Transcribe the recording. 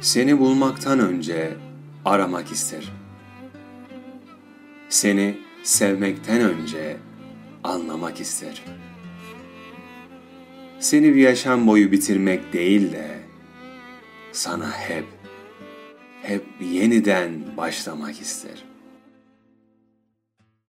Seni bulmaktan önce aramak isterim. Seni sevmekten önce anlamak isterim. Seni bir yaşam boyu bitirmek değil de sana hep yeniden başlamak isterim.